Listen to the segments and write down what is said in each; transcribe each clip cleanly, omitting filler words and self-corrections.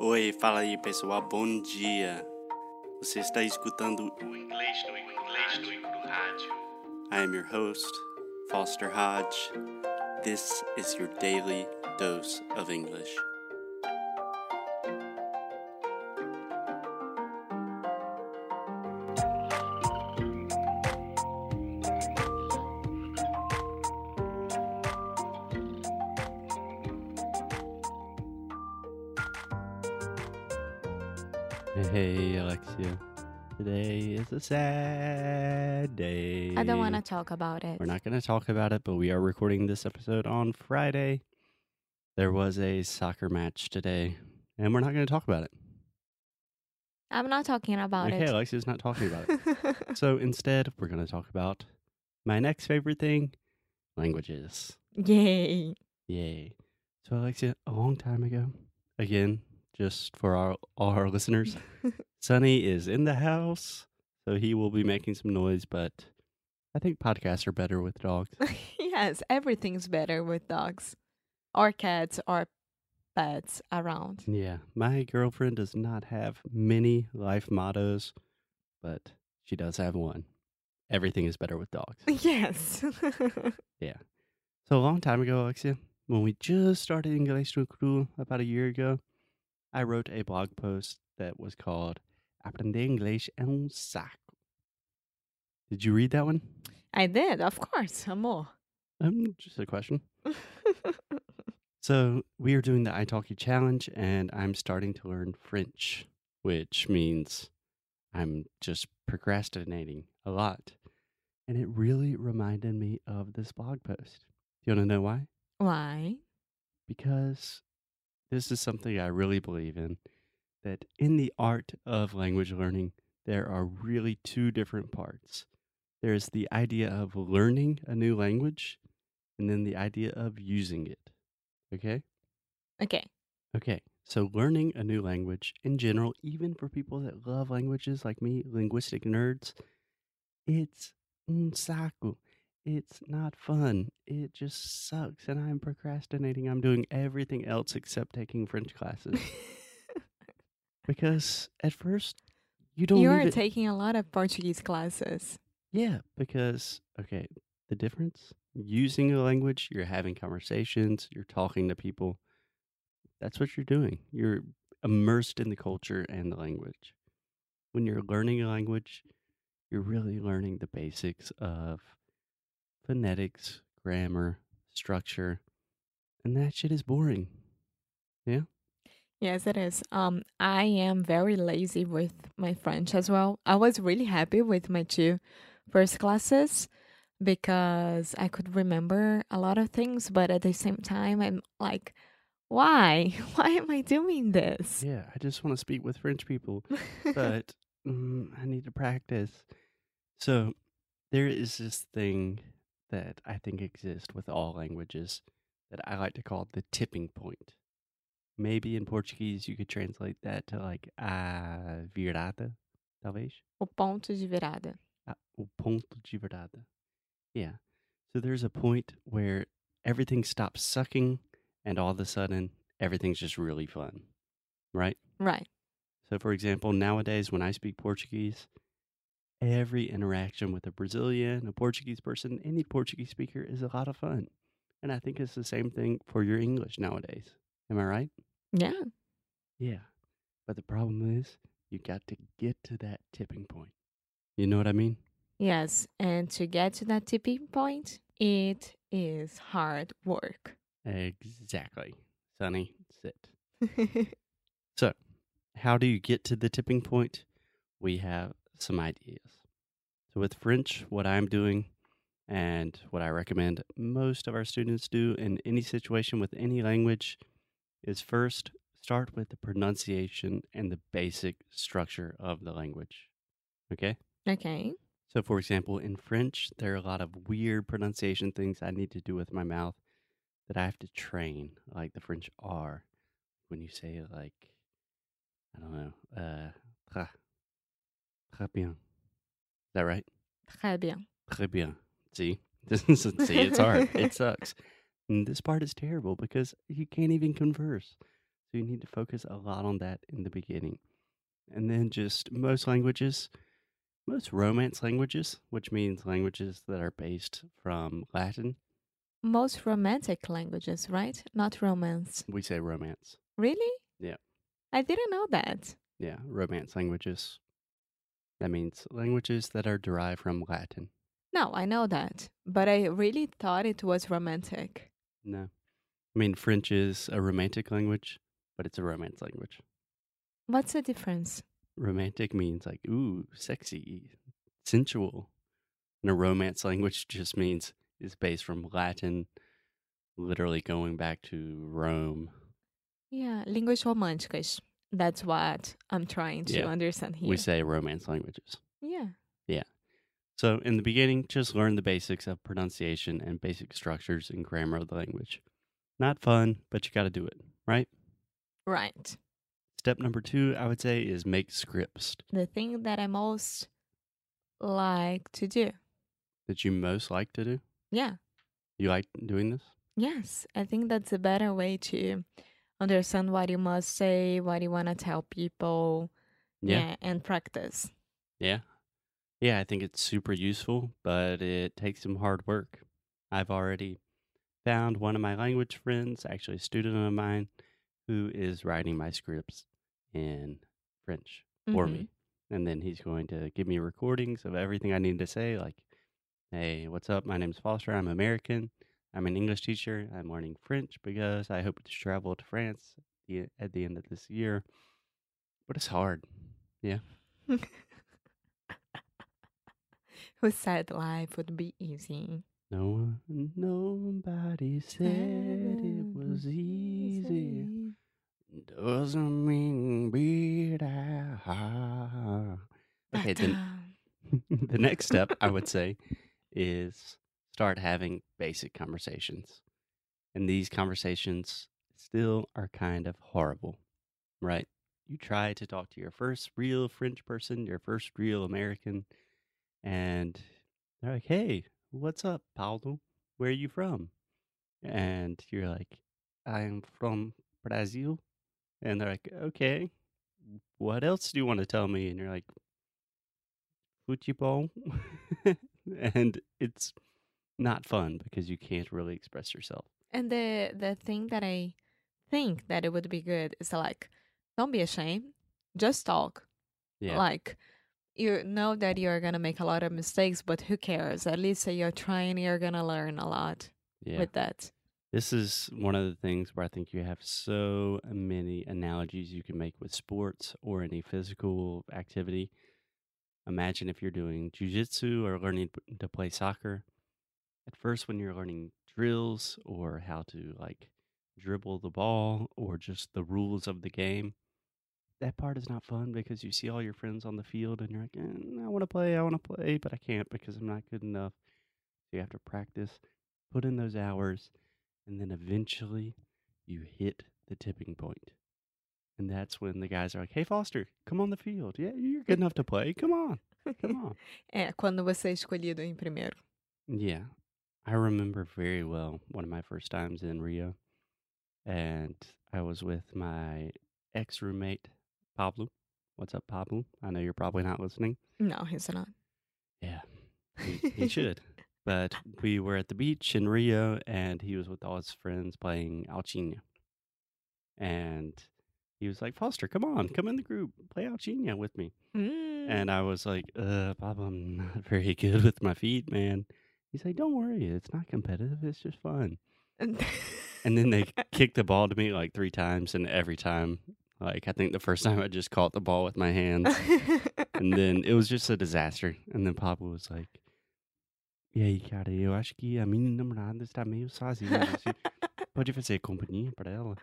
Oi, fala aí pessoal, bom dia. Você está escutando o Inglês no Rádio. I am your host, Foster Hodge. This is your daily dose of English. Hey, Alexia. Today is a sad day. I don't want to talk about it. We're not going to talk about it, but we are recording this episode on Friday. There was a soccer match today, and we're not going to talk about it. I'm not talking about Okay, it. Alexia's not talking about it. So instead, we're going to talk about my next favorite thing, languages. Yay. Yay. So, Alexia, a long time ago, again, just for all our listeners, Sonny is in the house, so he will be making some noise, but I think podcasts are better with dogs. Yes, everything's better with dogs or cats or pets around. Yeah, my girlfriend does not have many life mottos, but she does have one. Everything is better with dogs. Yes. Yeah. So a long time ago, Alexia, when we just started English no Cru about a year ago, I wrote a blog post that was called Aprender Inglês é saco. Did you read that one? I did, of course, amor. Just a question. So we are doing the italki challenge, and I'm starting to learn French, which means I'm just procrastinating a lot. And it really reminded me of this blog post. Do you want to know why? Why? Because this is something I really believe in, that in the art of language learning, there are really two different parts. There's the idea of learning a new language, and then the idea of using it. Okay? Okay. Okay. So learning a new language in general, even for people that love languages like me, linguistic nerds, it's saku. It's not fun. It just sucks, and I'm procrastinating. I'm doing everything else except taking French classes. Because at first, you don't You're even... taking a lot of Portuguese classes. Yeah, because, okay, the difference, using a language, you're having conversations, you're talking to people. That's what you're doing. You're immersed in the culture and the language. When you're learning a language, you're really learning the basics of phonetics, grammar, structure, and that shit is boring. Yeah? Yes, it is. I am very lazy with my French as well. I was really happy with my two first classes because I could remember a lot of things, but at the same time, I'm like, why? Why am I doing this? Yeah, I just want to speak with French people, but I need to practice. So there is this thing that I think exists with all languages that I like to call the tipping point. Maybe in Portuguese you could translate that to like a virada, talvez. O ponto de virada. O ponto de virada. Yeah. So there's a point where everything stops sucking and all of a sudden everything's just really fun. Right? Right. So for example, nowadays when I speak Portuguese, every interaction with a Brazilian, a Portuguese person, any Portuguese speaker is a lot of fun. And I think it's the same thing for your English nowadays. Am I right? Yeah. Yeah. But the problem is you got to get to that tipping point. You know what I mean? Yes. And to get to that tipping point, it is hard work. Exactly. Sonny, sit. So, how do you get to the tipping point? We have some ideas. So with French, what I'm doing and what I recommend most of our students do in any situation with any language is first start with the pronunciation and the basic structure of the language. Okay? Okay. So, for example, in French, there are a lot of weird pronunciation things I need to do with my mouth that I have to train, like the French R. When you say it like, I don't know, très bien. Is that right? Très bien. Très bien. See? See, it's hard. It sucks. And this part is terrible because you can't even converse. So you need to focus a lot on that in the beginning. And then just most languages, most Romance languages, which means languages that are based from Latin, Most romantic languages, right? Not romance. we say Romance. Really? Yeah. I didn't know that. Yeah, Romance languages. That means languages that are derived from Latin. No, I know that. But I really thought it was romantic. No. I mean, French is a romantic language, but it's a Romance language. What's the difference? Romantic means like, ooh, sexy, sensual. And a Romance language just means it's based from Latin, literally going back to Rome. Yeah, línguas românticas. That's what I'm trying to Yeah, understand here. we say Romance languages. Yeah. Yeah. So in the beginning, just learn the basics of pronunciation and basic structures and grammar of the language. Not fun, but you got to do it, right? Right. Step number 2, I would say, is make scripts The thing that I most like to do. that you most like to do. Yeah. You like doing this? Yes. I think that's a better way to understand what you must say, what you want to tell people. Yeah. And practice. Yeah. Yeah, I think it's super useful, but it takes some hard work. I've already found one of my language friends, actually a student of mine, who is writing my scripts in French for me. And then he's going to give me recordings of everything I need to say, like, hey, what's up? My name's Foster. I'm American. I'm an English teacher. I'm learning French because I hope to travel to France at the end of this year. But it's hard. Yeah. Who said life would be easy? Nobody said it was easy. Doesn't mean be that hard. Okay, then the next step I would say is start having basic conversations. And these conversations still are kind of horrible, right? You try to talk to your first real French person, your first real American, and they're like, hey, what's up, Paulo? Where are you from? And you're like, I'm from Brazil. And they're like, okay, what else do you want to tell me? And you're like, futebol. And it's not fun because you can't really express yourself. And the thing that I think that it would be good is like, don't be ashamed. Just talk. Yeah. Like, you know that you're gonna make a lot of mistakes, but who cares? At least you're trying, you're gonna learn a lot with that. This is one of the things where I think you have so many analogies you can make with sports or any physical activity. Imagine if you're doing jujitsu or learning to play soccer. At first, when you're learning drills or how to like dribble the ball or just the rules of the game, that part is not fun because you see all your friends on the field and you're like, I want to play, but I can't because I'm not good enough. So you have to practice, put in those hours, and then eventually you hit the tipping point. And that's when the guys are like, hey, Foster, come on the field. Yeah, you're good enough to play. Come on. Come on. Quando você é escolhido em primeiro. Yeah. I remember very well one of my first times in Rio. And I was with my ex-roommate, Pablo. What's up, Pablo? I know you're probably not listening. No, he's not. Yeah, he should. But we were at the beach in Rio, and he was with all his friends playing Alcina. And he was like, Foster, come on, come in the group, play Alcina with me. And I was like, Pablo, I'm not very good with my feet, man. He's like, don't worry, it's not competitive, it's just fun. And then they kicked the ball to me like 3 times, and every time, like I think the first time I just caught the ball with my hands, and then it was just a disaster. And then Papa was like, "E aí, cara, eu acho que a minha namorada está meio sozinha. Você pode fazer companhia para ela?"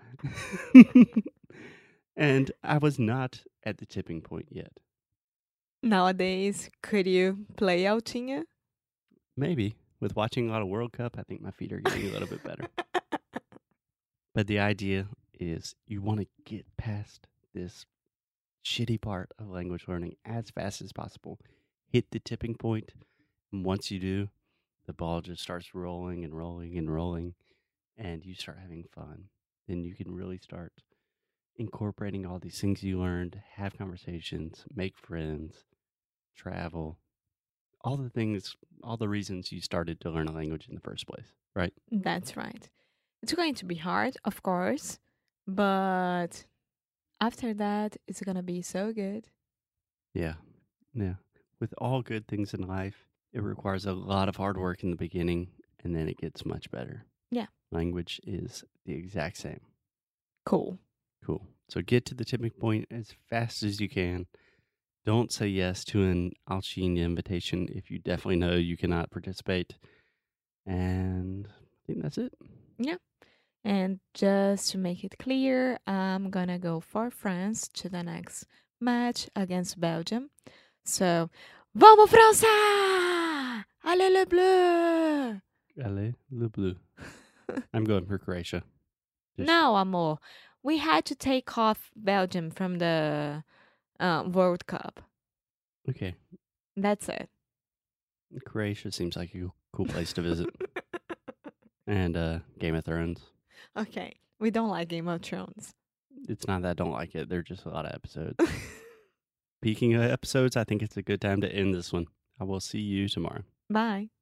And I was not at the tipping point yet. Nowadays, could you play Altinha? Maybe. With watching a lot of World Cup, I think my feet are getting a little bit better. But the idea is you want to get past this shitty part of language learning as fast as possible. Hit the tipping point, and once you do, the ball just starts rolling and rolling and rolling, and you start having fun. Then you can really start incorporating all these things you learned, have conversations, make friends, travel, all the things, all the reasons you started to learn a language in the first place, right? That's right. It's going to be hard, of course, but after that, it's gonna be so good. Yeah. Yeah. With all good things in life, it requires a lot of hard work in the beginning and then it gets much better. Yeah. Language is the exact same. Cool. Cool. So get to the tipping point as fast as you can. Don't say yes to an Alchine invitation if you definitely know you cannot participate. And I think that's it. Yeah. And just to make it clear, I'm gonna go for France to the next match against Belgium. So, vamos França! Allez le bleu! Allez, le bleu. I'm going for Croatia. No, amor. We had to take off Belgium from the World Cup. Okay. That's it. Croatia seems like a cool place to visit. And Game of Thrones. Okay. We don't like Game of Thrones. It's not that I don't like it. There are just a lot of episodes. Speaking of episodes, I think it's a good time to end this one. I will see you tomorrow. Bye.